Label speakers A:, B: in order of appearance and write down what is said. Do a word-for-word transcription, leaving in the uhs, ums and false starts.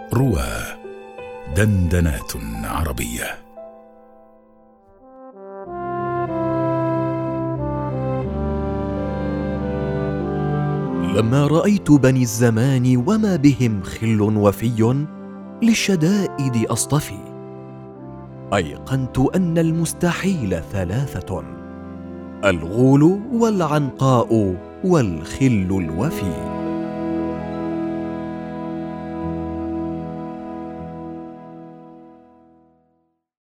A: روى دندنات عربية.
B: لما رأيت بني الزمان وما بهم خل وفي للشدائد أصطفي، أيقنت أن المستحيل ثلاثة: الغول والعنقاء والخل الوفي.